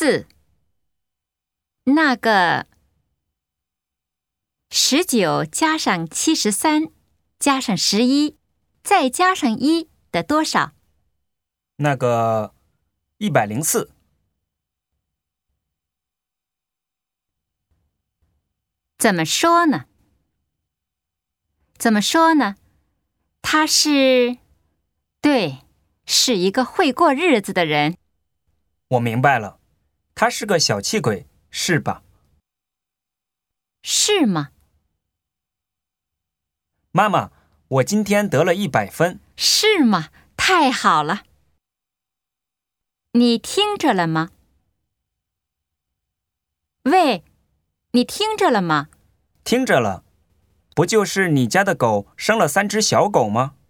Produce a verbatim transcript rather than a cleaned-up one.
四。那个十九加上七十三加上十一再加上一的多少？ 那个一百零四。 怎么说呢？怎么说呢？他是，对，是一个会过日子的人。 我明白了，他是个小气鬼，是吧？ 是吗？ 妈妈，我今天得了一百分。 是吗？太好了。你听着了吗？喂，你听着了吗？ 听着了，不就是你家的狗生了三只小狗吗？